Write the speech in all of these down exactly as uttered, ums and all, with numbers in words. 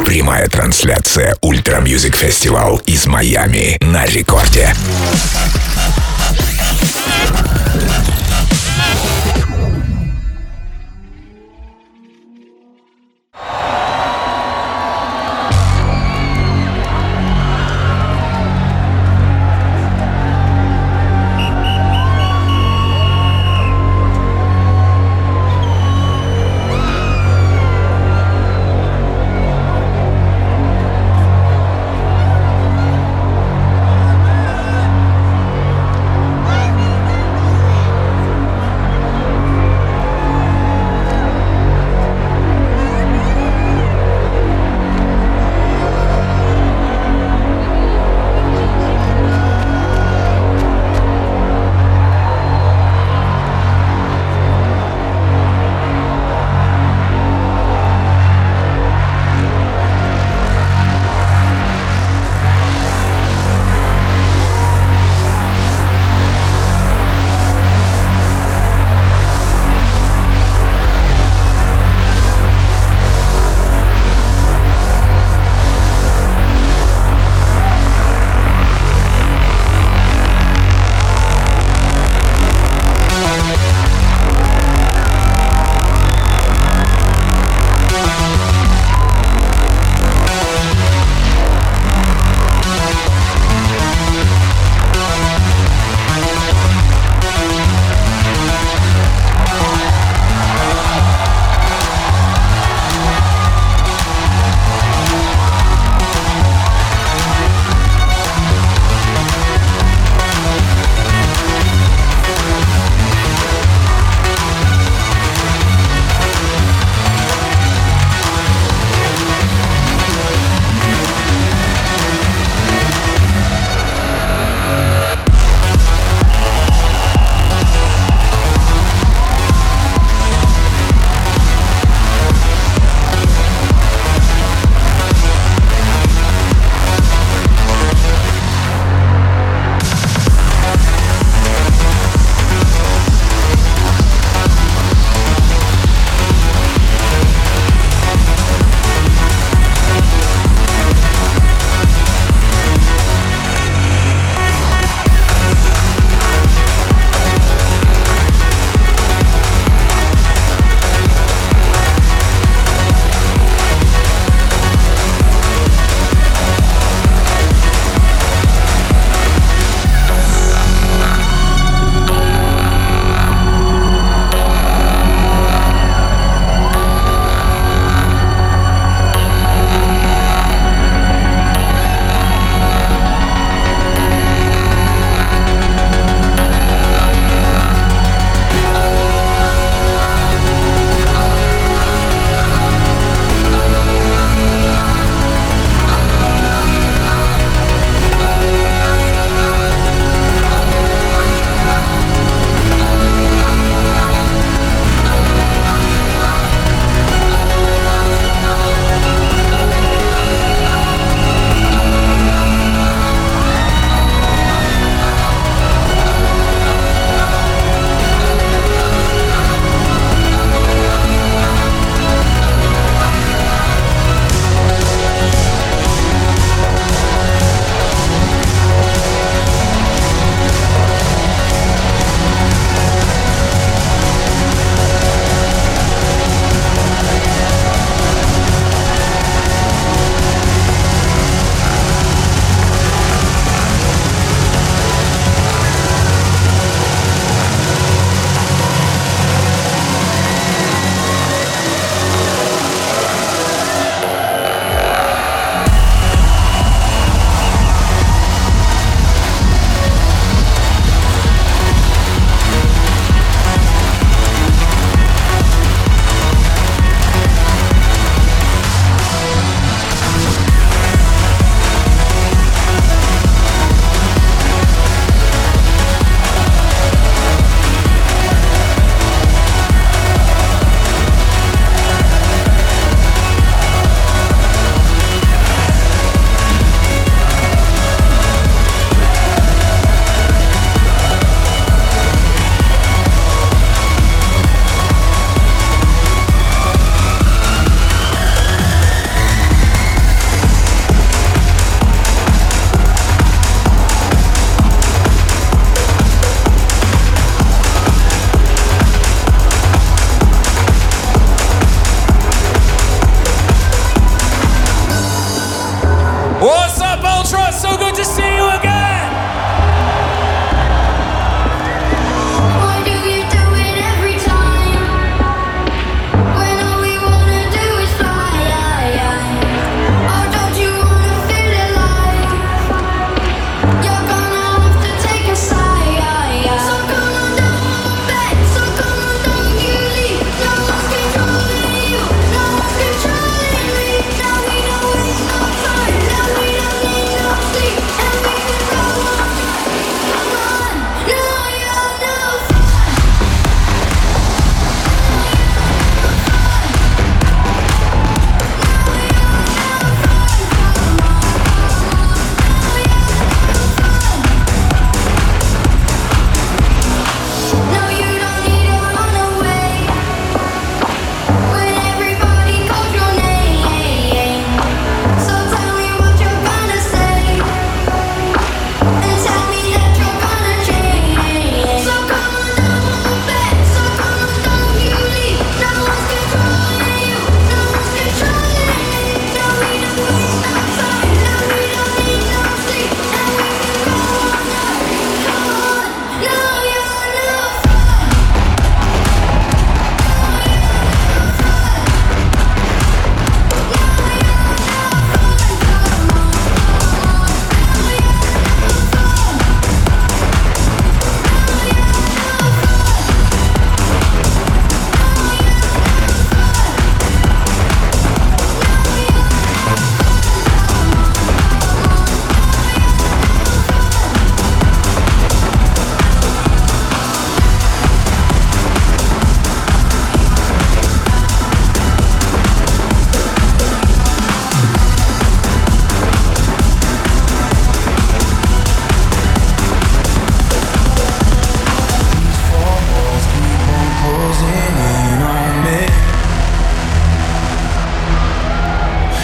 Прямая трансляция Ультра Мьюзик Фестивал из Майами на рекорде.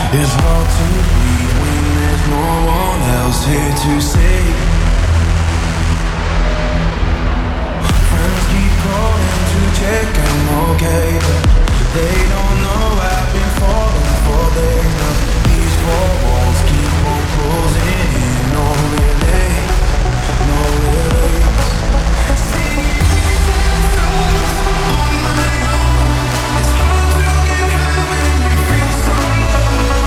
It's hard to breathe when there's no one else here to save. Friends keep calling to check I'm okay, but they don't know I've been falling for days now. These four walls keep on closing in. No relief, no relief. On my own, it's hard to get high when you feel so low.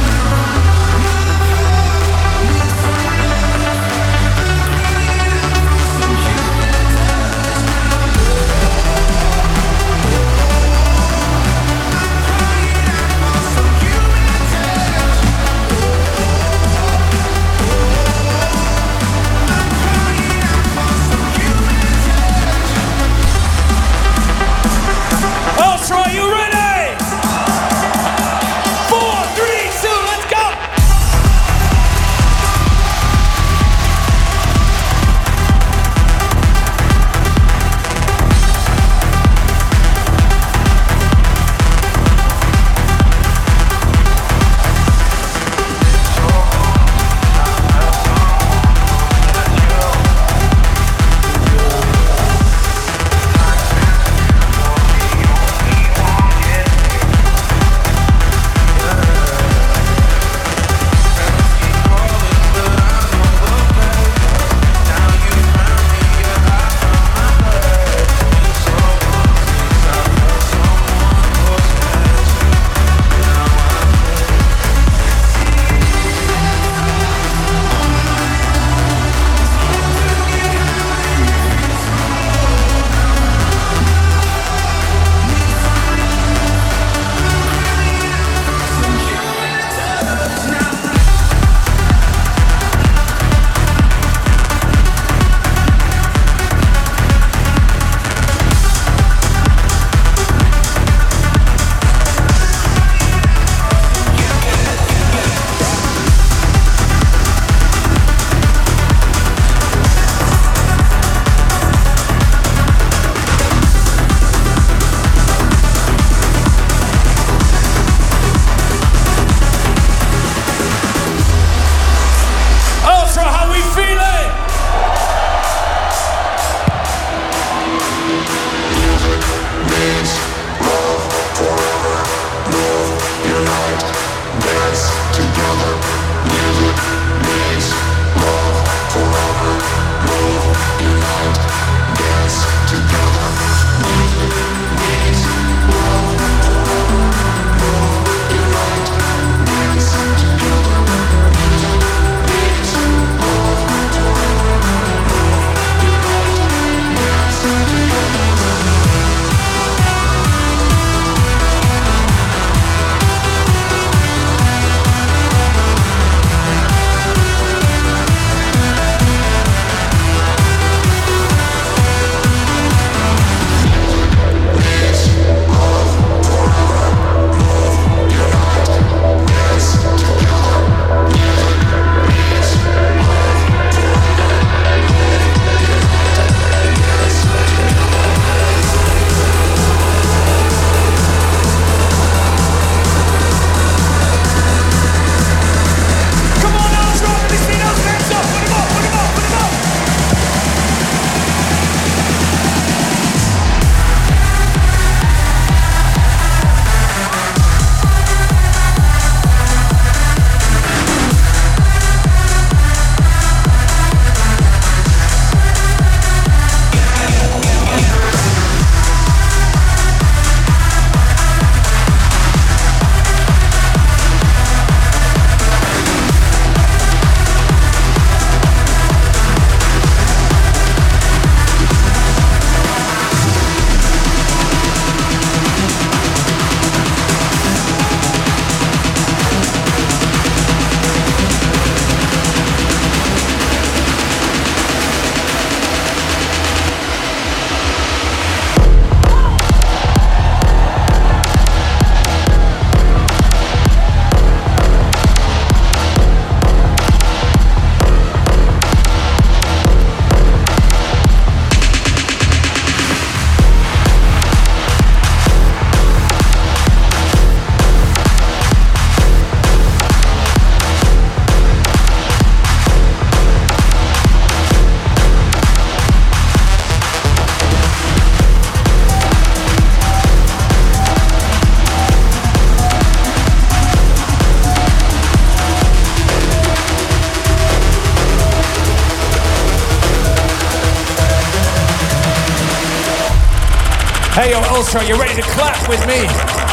Hey, yo, Ultra, you ready to clap with me?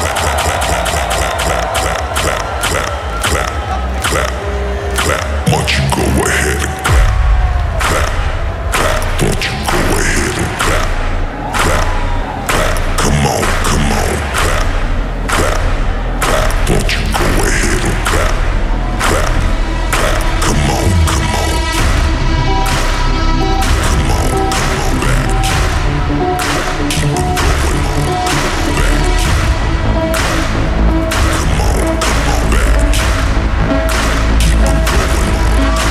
Won't you go ahead and clap, clap, clap. Won't you go ahead and clap, clap, clap. Come on, come on, clap, clap, clap. Won't you go ahead and clap, clap, clap. Come on, come on. Come on, come on back. Keep it going on back. Come on, come on back. Keep it going on.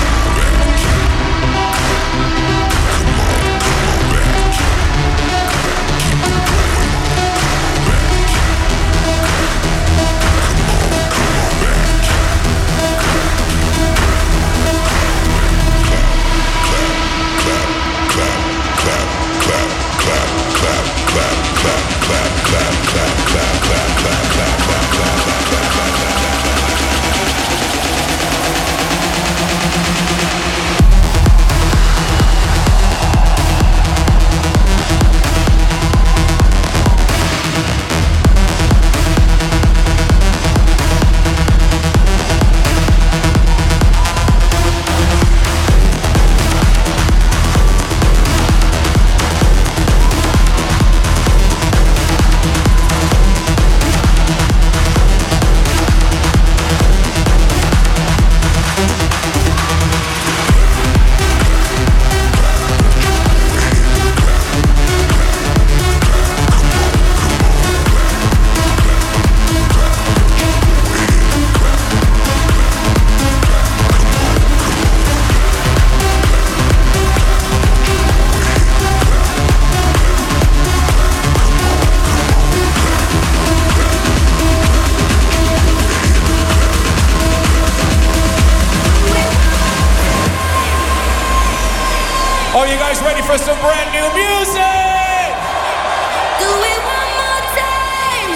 Are you guys ready for some brand new music? Do it one more time.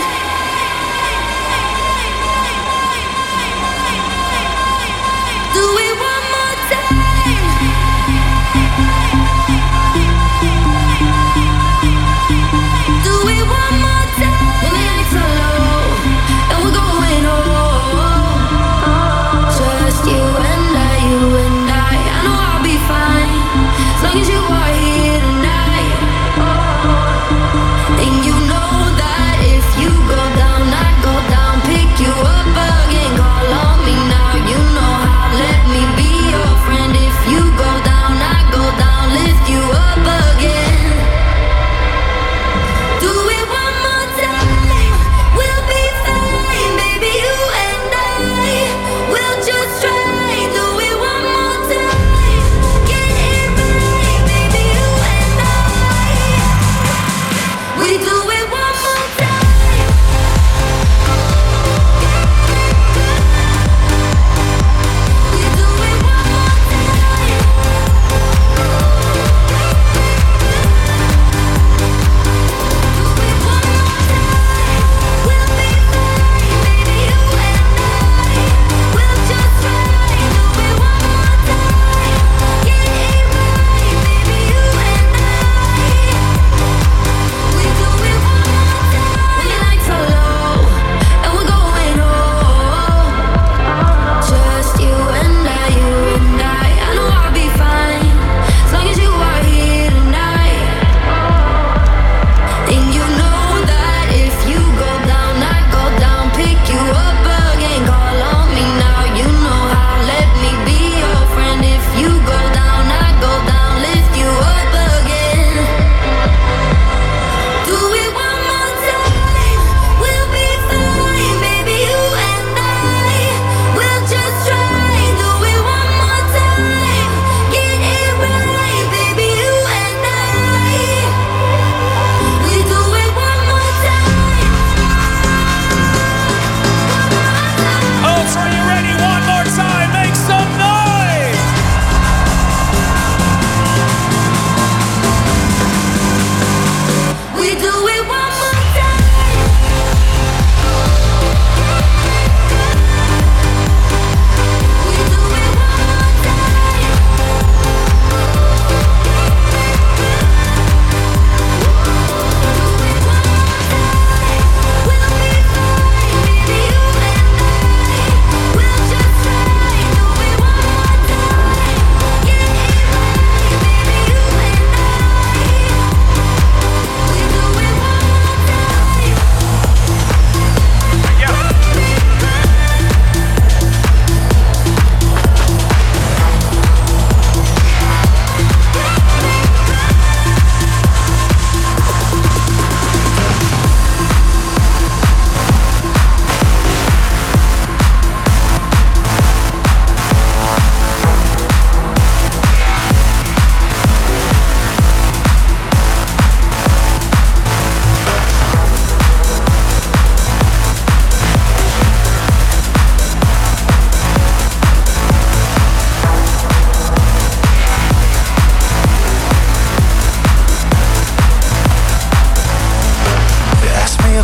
Do it one more time. Do it one more time. When the lights are low and we're going home, just you and I, you and I. I know I'll be fine as long as you are here tonight.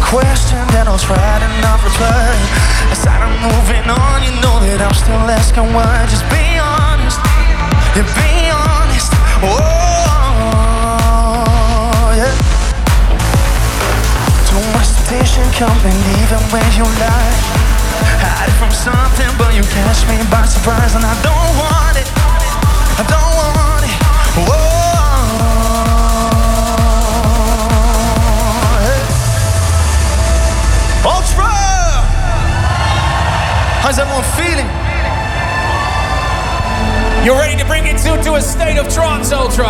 question, then I'll try to not reply. As I'm moving on, you know that I'm still asking why. Just be honest, yeah, be honest. Oh, yeah. Too much temptation coming even when you lie. Hide from something, but you catch me by surprise, and I don't want it. I don't want it. Whoa. Ultra! How's everyone feeling? You're ready to bring it to, to a state of trance, Ultra.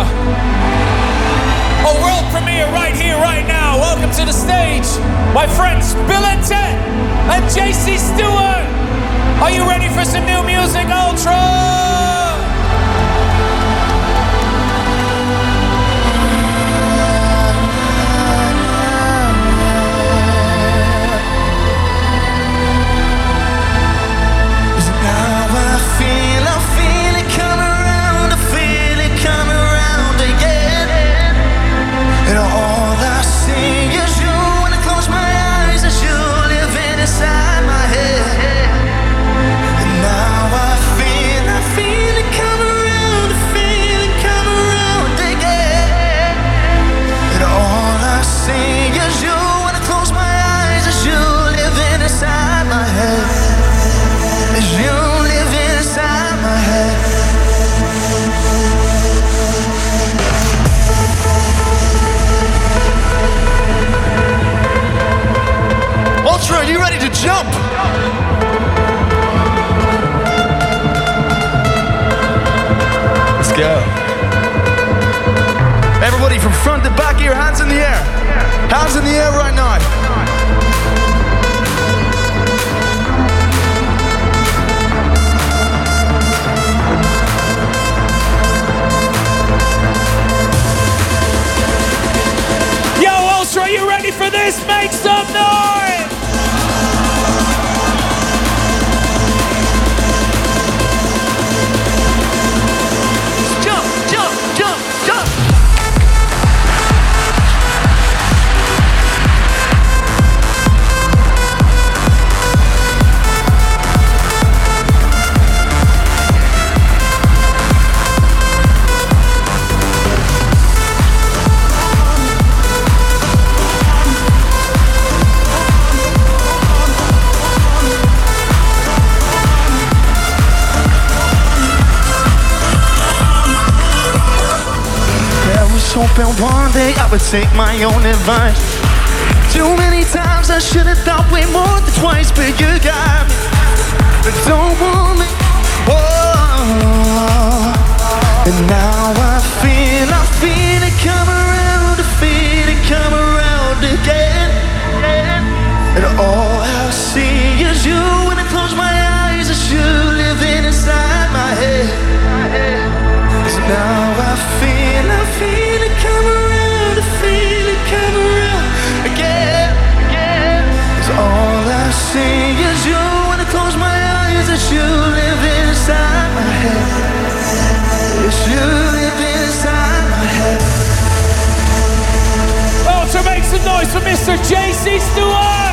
A world premiere right here, right now. Welcome to the stage, my friends Bill and Ted and J C Stewart. Are you ready for some new music, Ultra? Are you ready to jump? Let's go. Everybody from front to back here, hands in the air. Hands in the air right now. Yo, Ultra, are you ready for this? Make some noise! Hoping one day I would take my own advice. Too many times I should have thought way more than twice, but you got me, but don't want me. Whoa. And now I feel, I feel it come around, I feel it come around again. And all I see is you. When I close my eyes, it's you living inside my head. So now I feel, I feel come around, I feel it come around again, again. 'Cause all I see is you. When I close my eyes, it's you living inside my head. It's you living inside my head. Oh, to make some noise for Mister J C Stewart!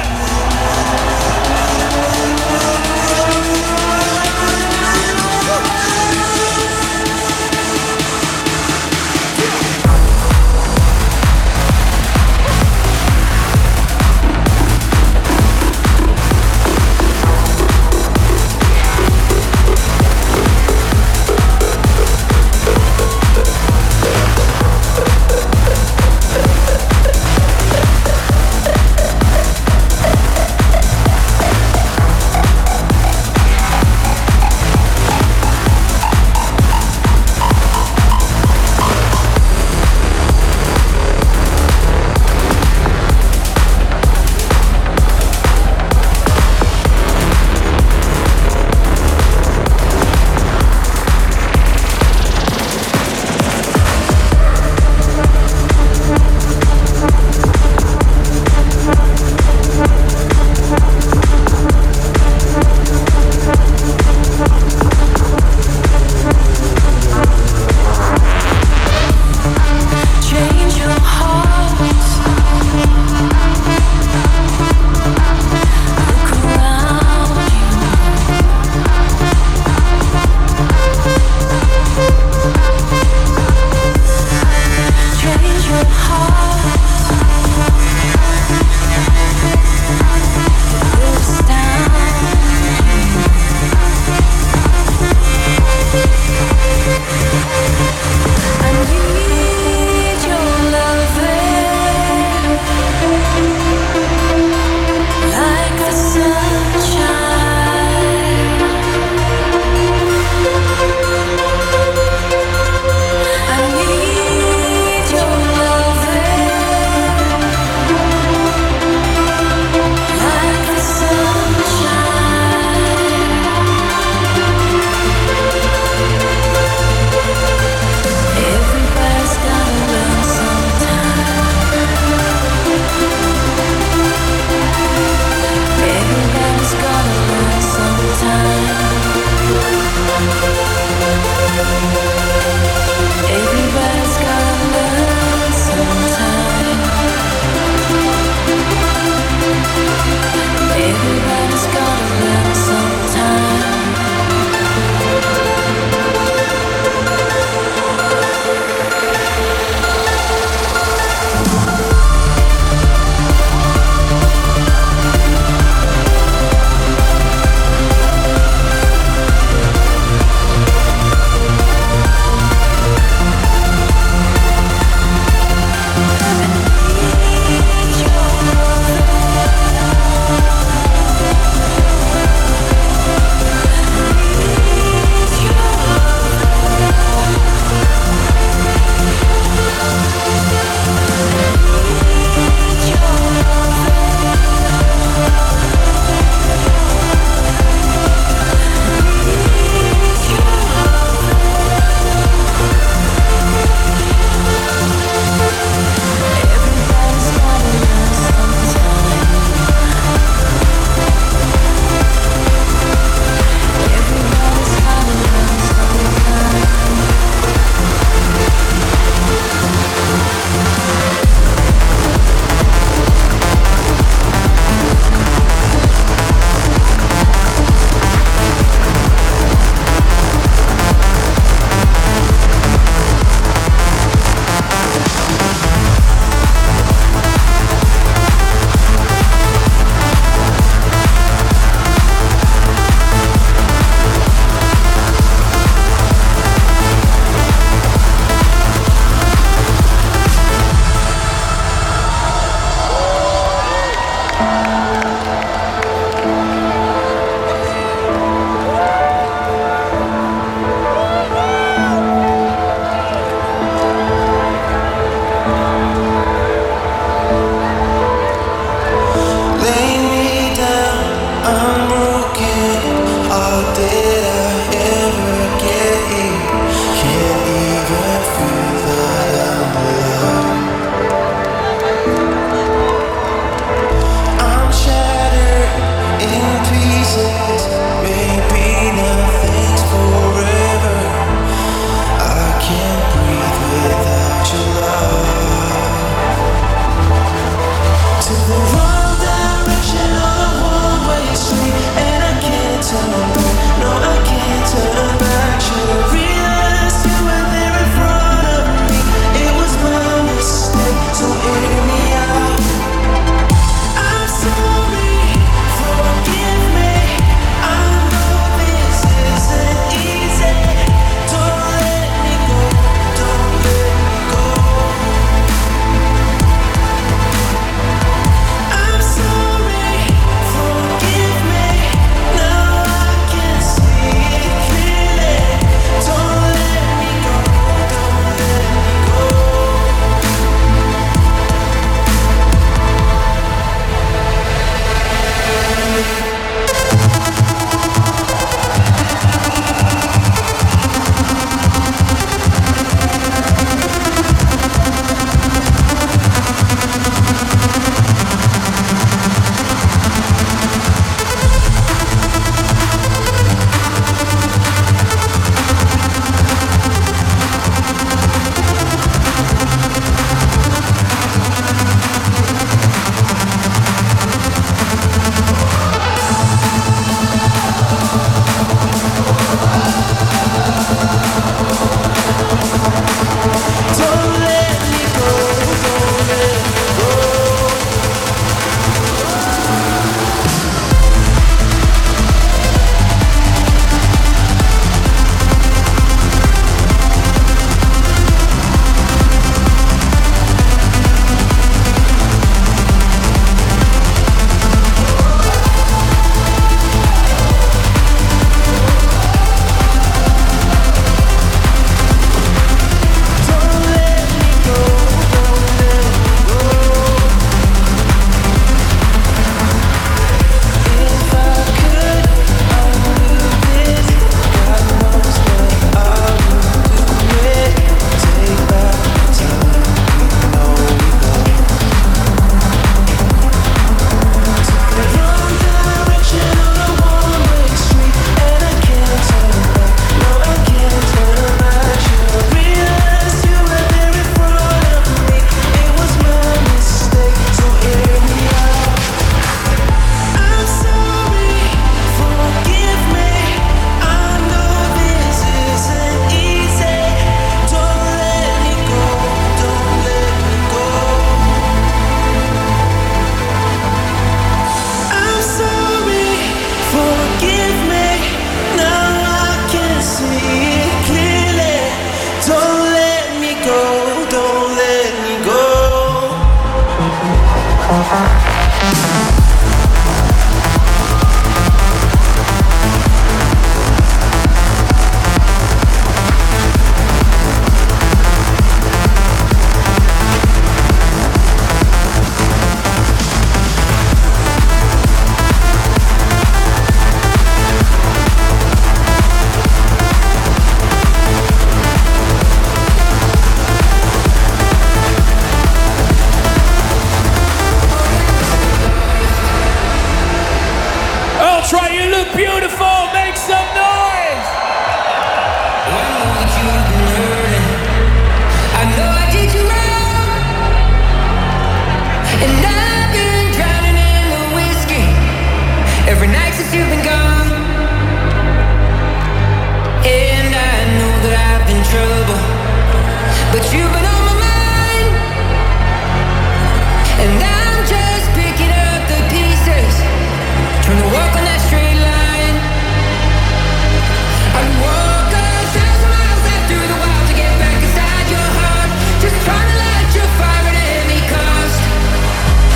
Just trying to light your fire at any cost.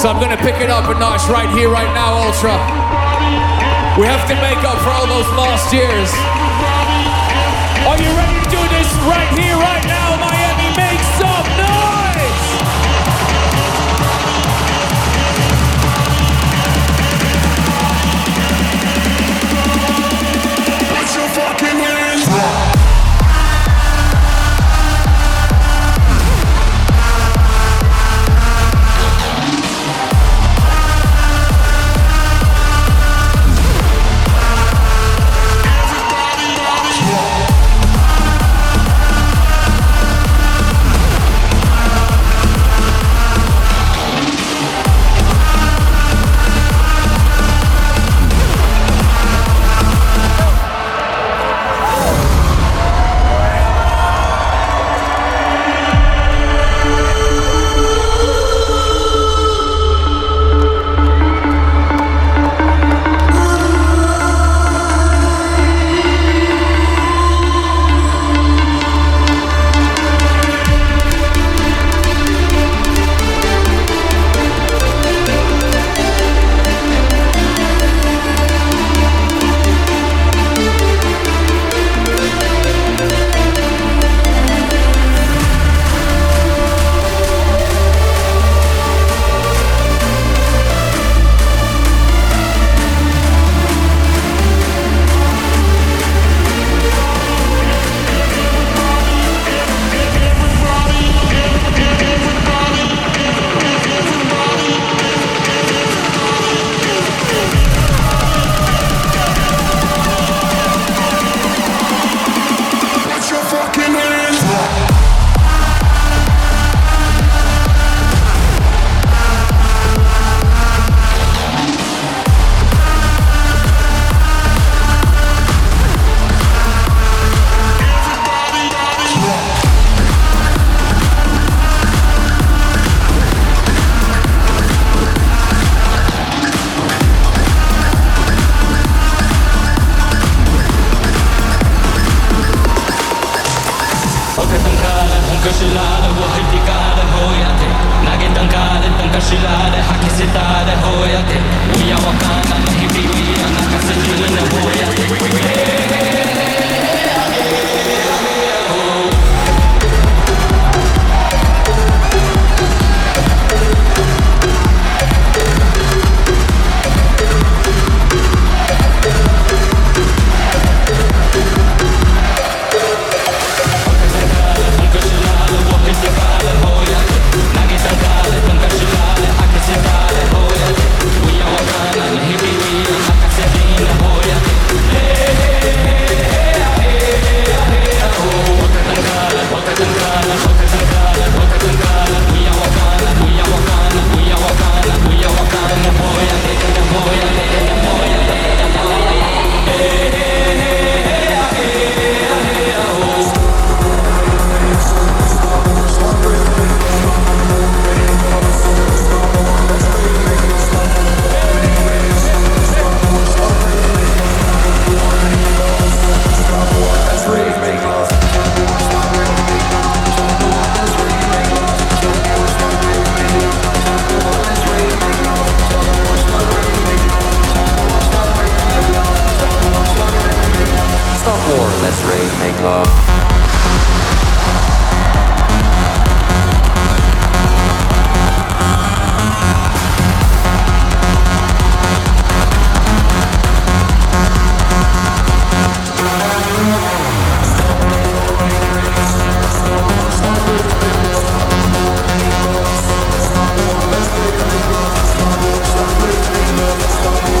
So I'm gonna pick it up a notch right here, right now, Ultra. We have to make up for all those lost years. Are you ready to do this right here, right now, Miami? Make some noise! Put your fucking hands up.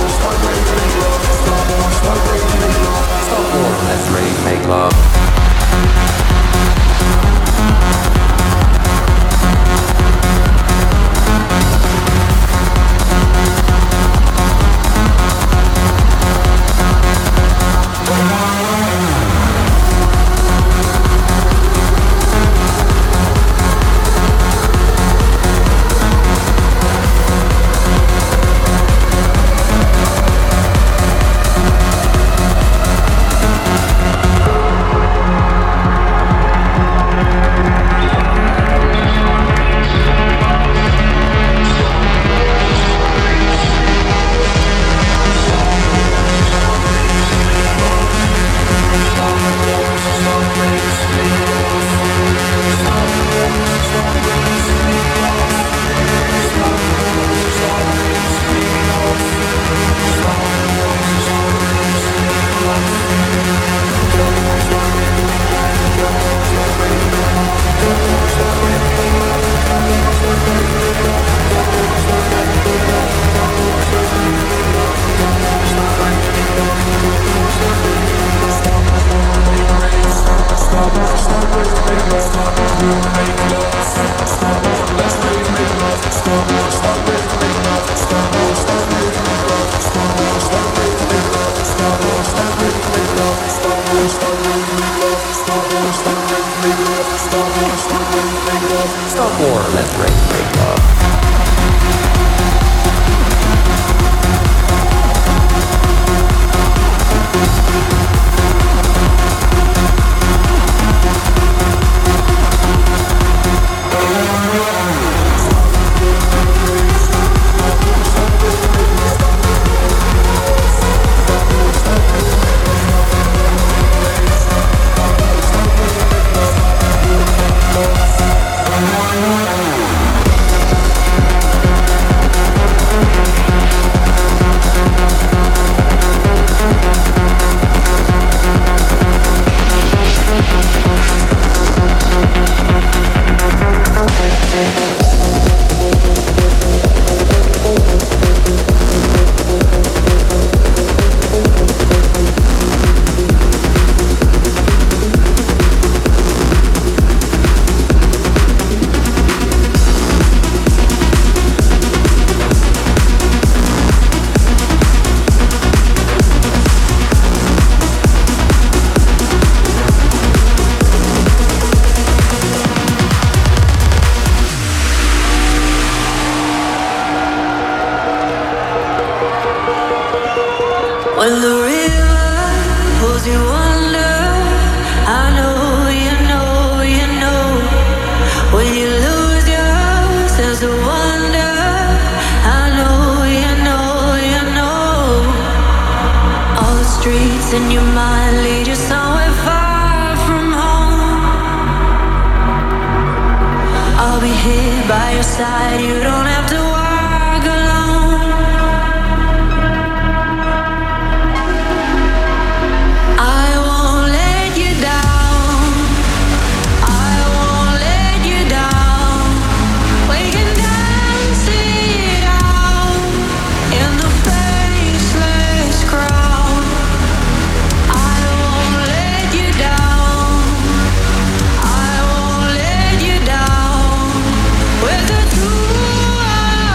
Stop war, let's rave, make love. When the river pulls you under, I know, you know, you know. When you lose your sense of wonder, I know, you know, you know. All the streets in your mind lead you somewhere far from home. I'll be here by your side, you don't have to walk alone. I won't let you down, I won't let you down. We can dance it out in the faceless crowd. I won't let you down, I won't let you down. With the two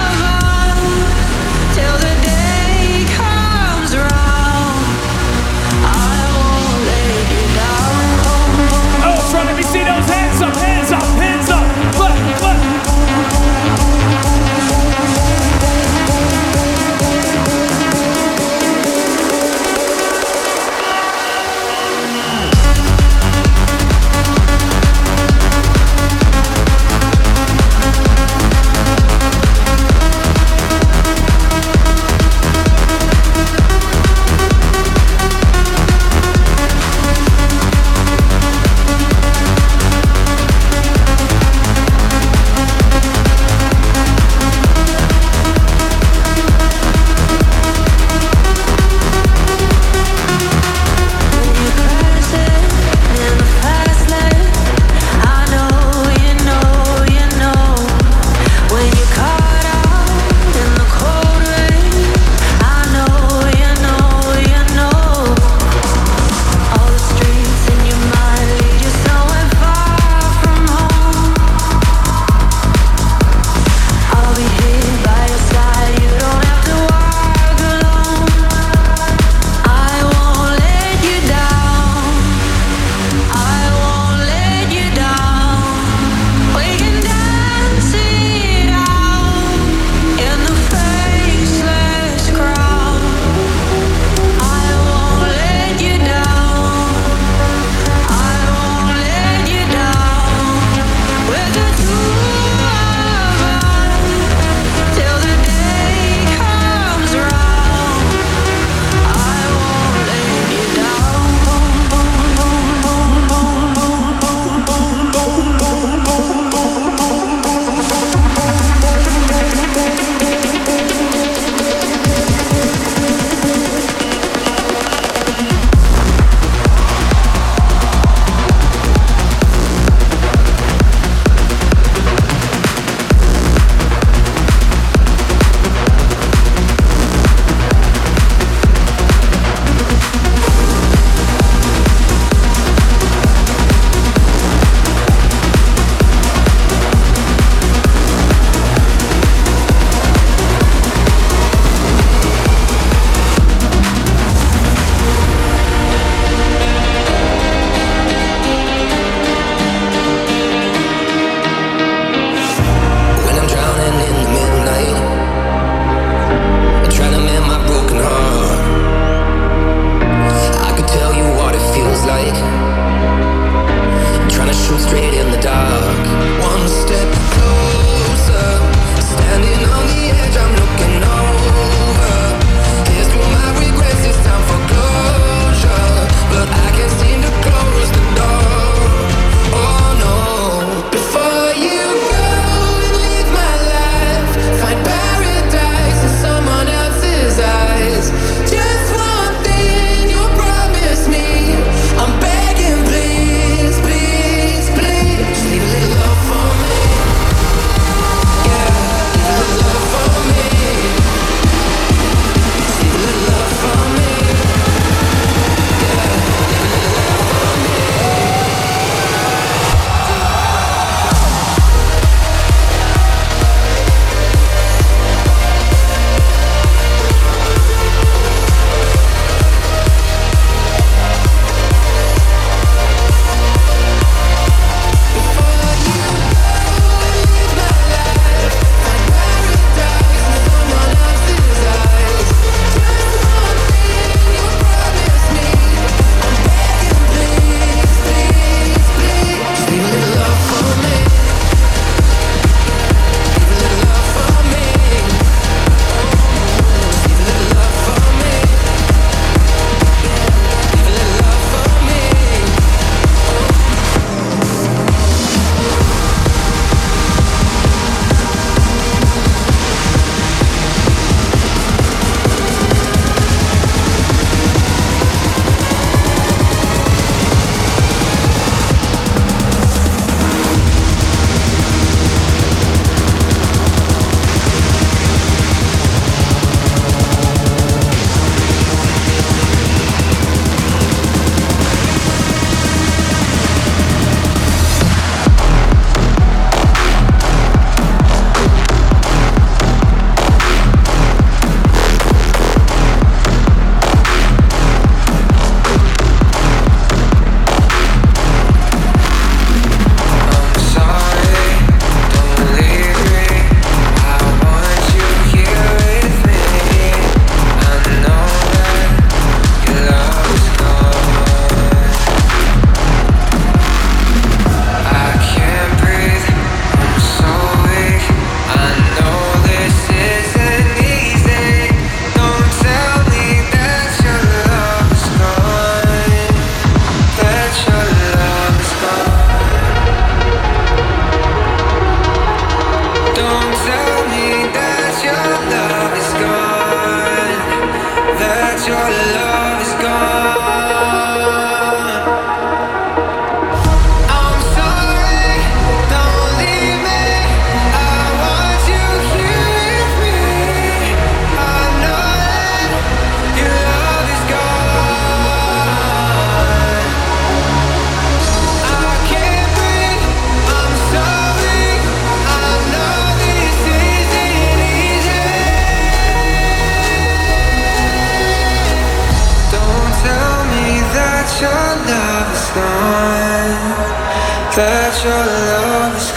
that your love is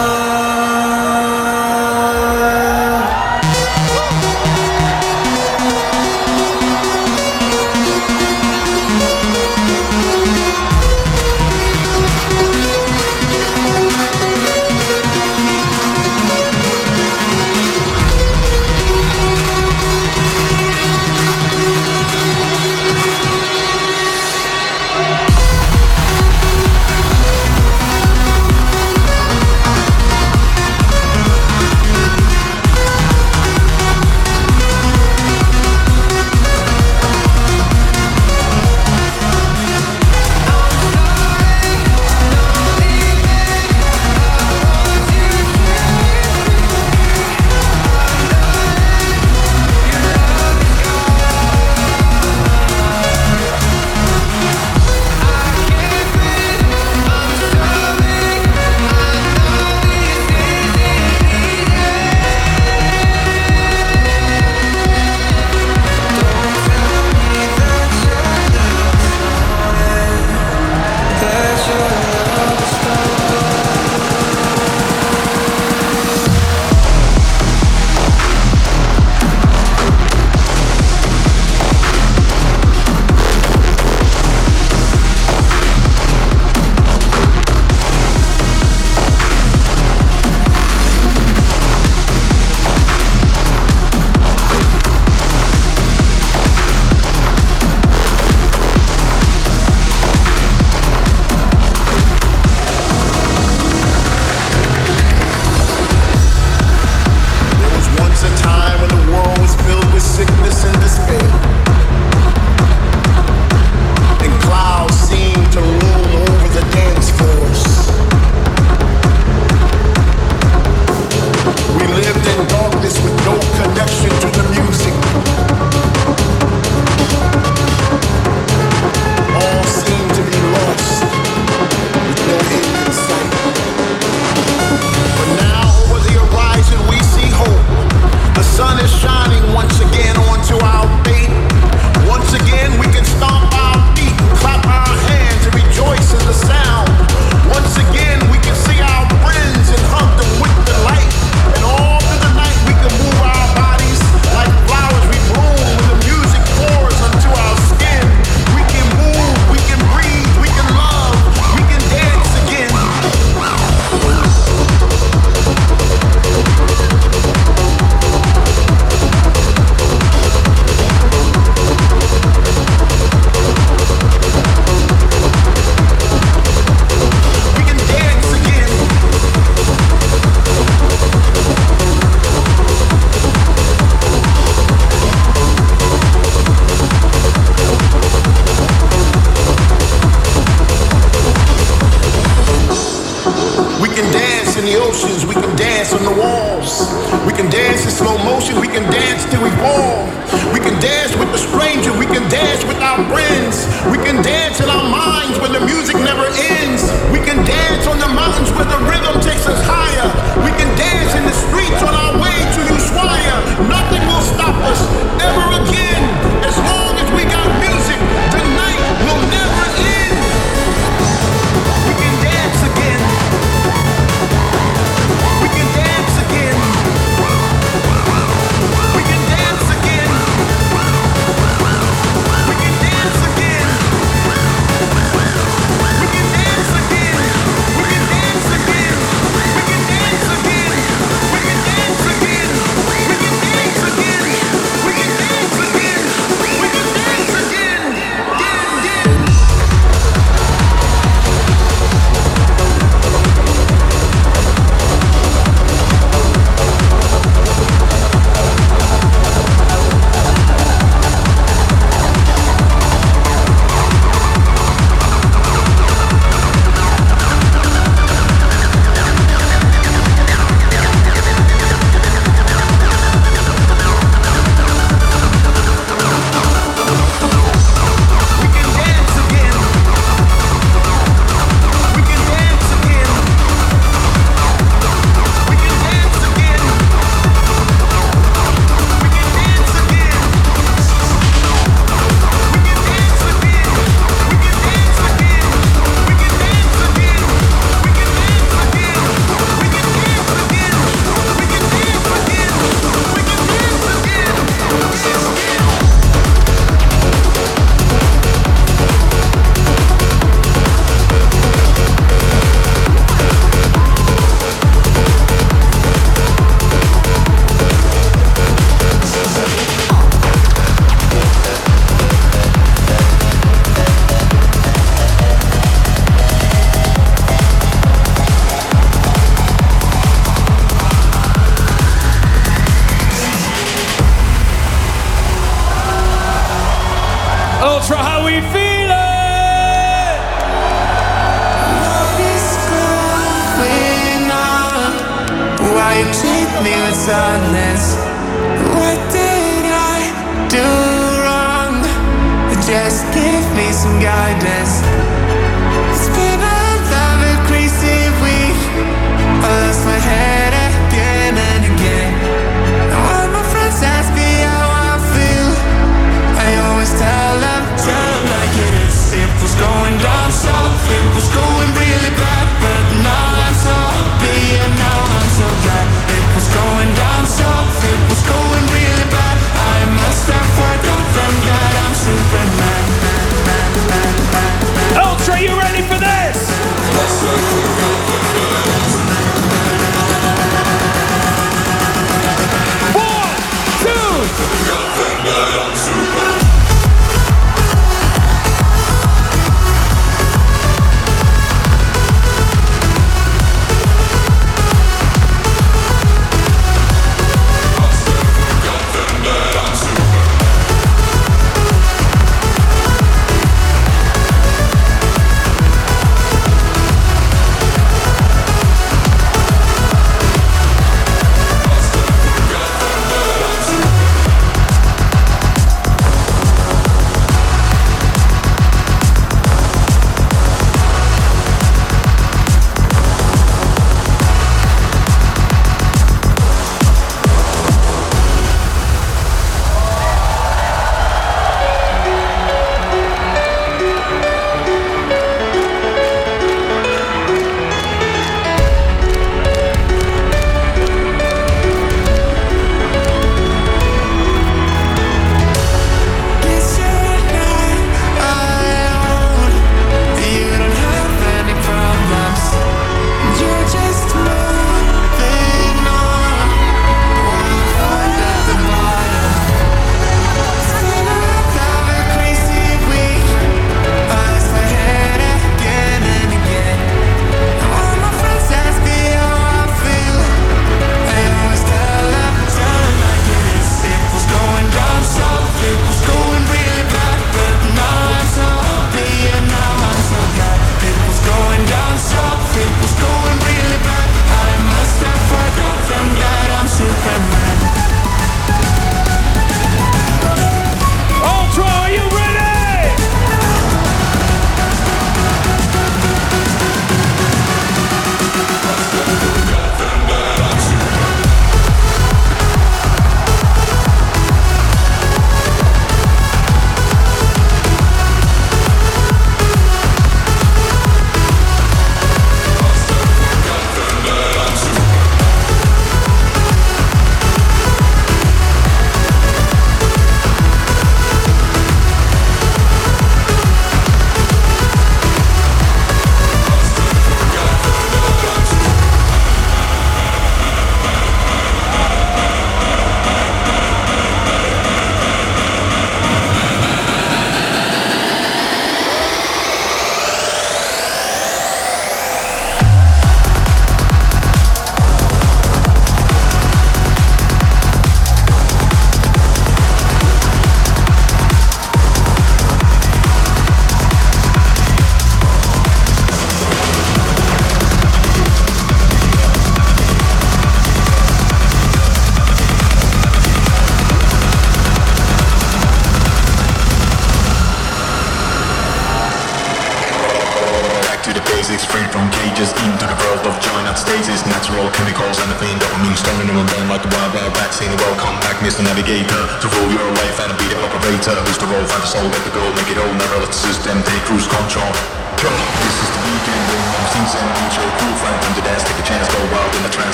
gone. We can Ultra, how we feeling? What is going on? Why you treat me with sadness? What did I do wrong? Just give me some guidance. It's been another crazy week. I lost my head again and again. And when my friends ask me how I feel, I always tell them, tell them like it is. It was going down south, it was going really bad, but now I'm so happy and now I'm so glad. It was going down south, it was going really bad. I must have forgotten that I'm Superman. Ultra, you ready for this? One, two.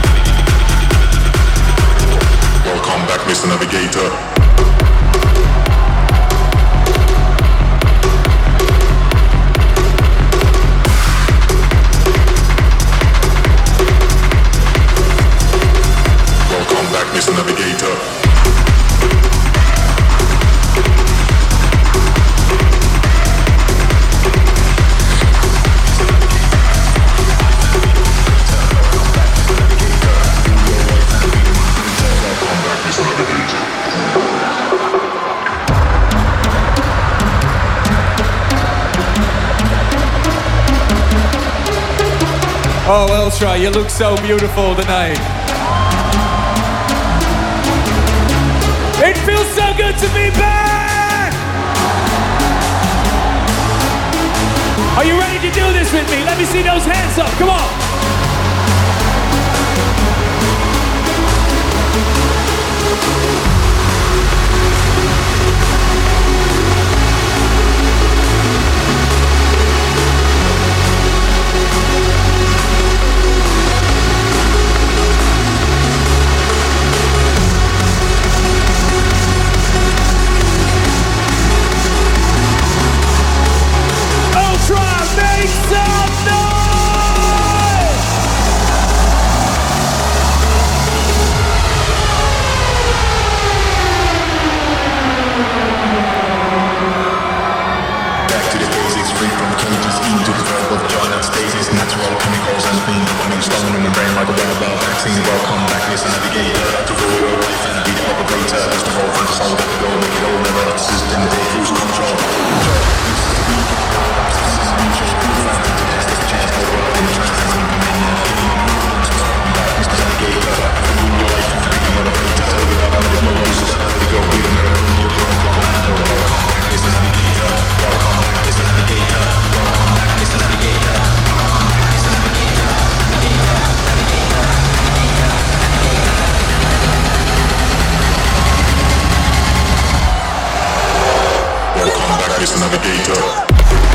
Mister Navigator. Oh, Ultra, you look so beautiful tonight. It feels so good to be back! Are you ready to do this with me? Let me see those hands up, come on! Make some noise! Back to the basics, free from cages, into the verb of joy that stasis, natural chemicals and being becoming stone in the brain like a wearable vaccine. Welcome back, listen, navigator, to rule your life and be the operator. As the roll from the soul, let it go, make it all, never let the system take lose control. Welcome back, Mister Navigator.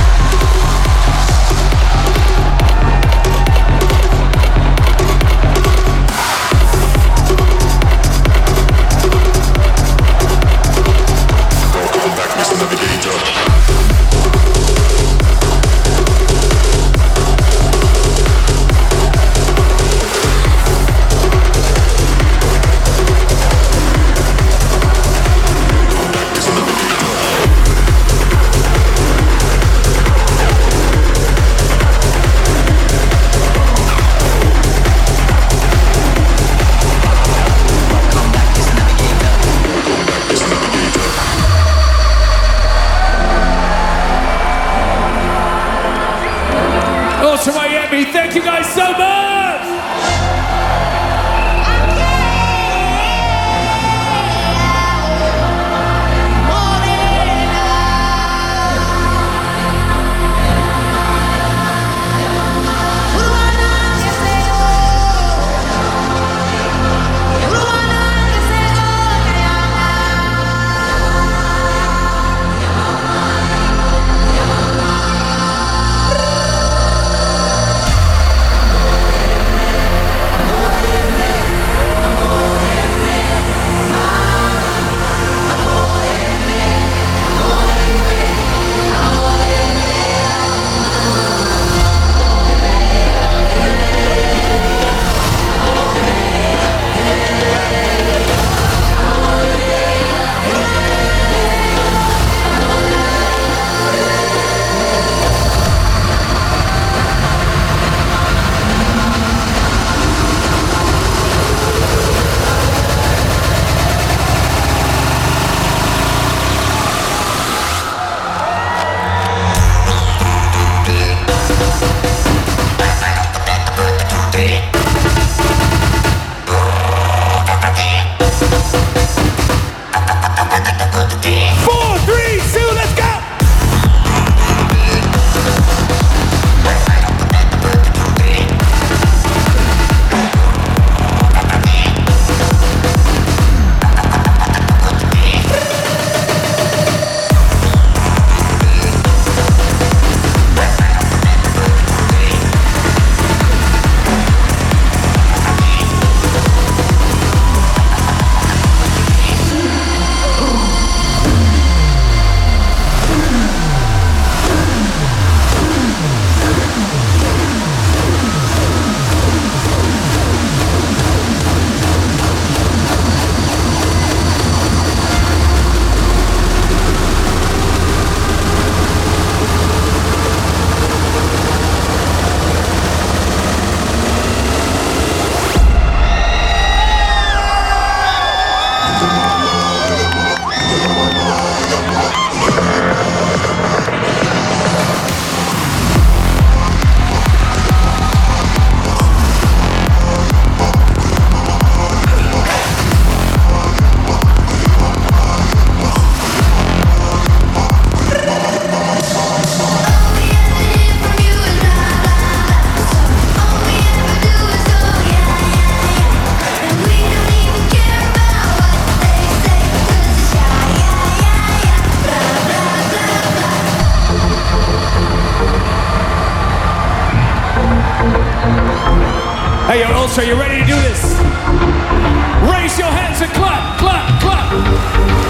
To Miami, thank you guys so much! Hey, yo, Ultra, you ready to do this? Raise your hands and clap, clap, clap.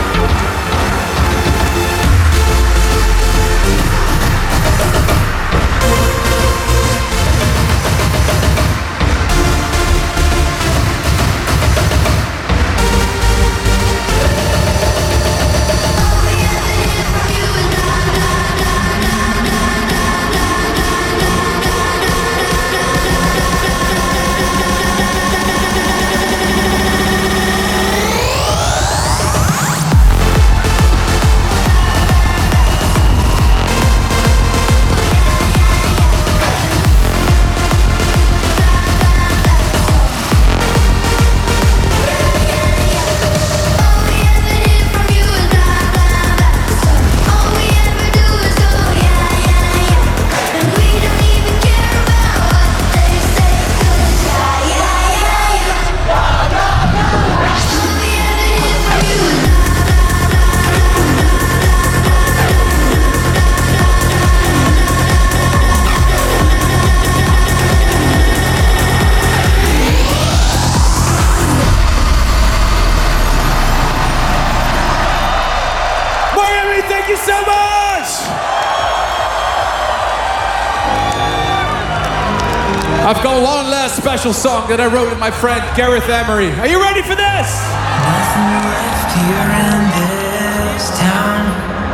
I've got one last special song that I wrote with my friend Gareth Emery. Are you ready for this? Nothing left here in this town.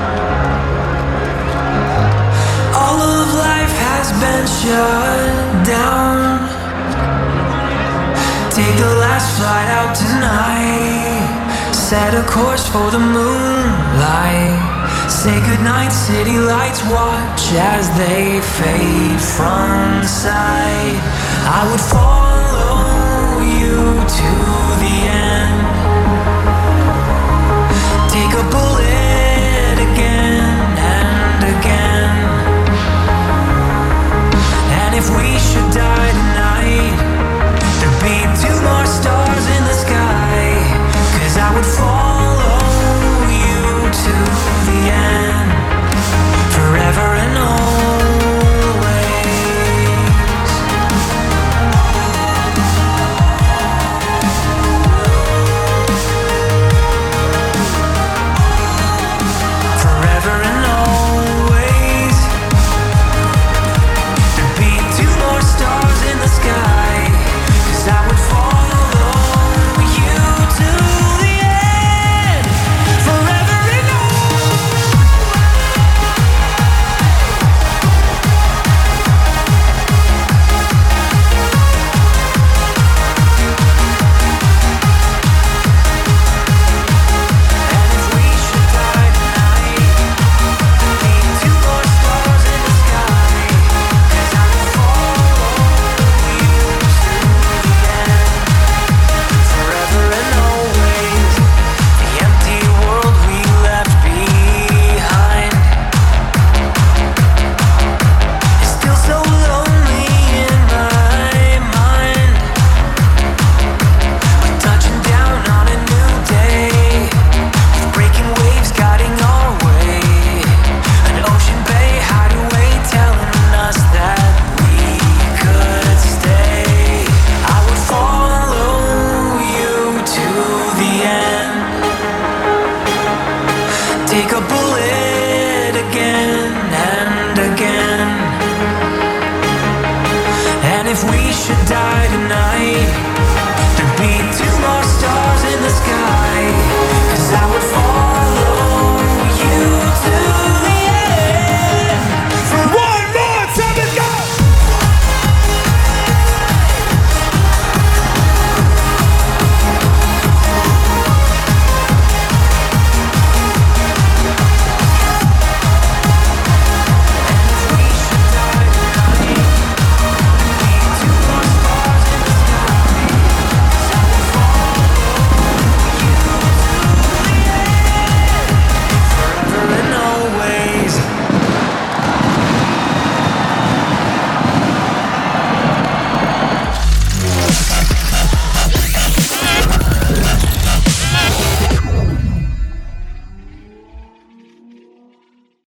All of life has been shut down. Take the last flight out tonight. Set a course for the moonlight. Say goodnight, city lights, watch as they fade from sight. I would follow you to the end.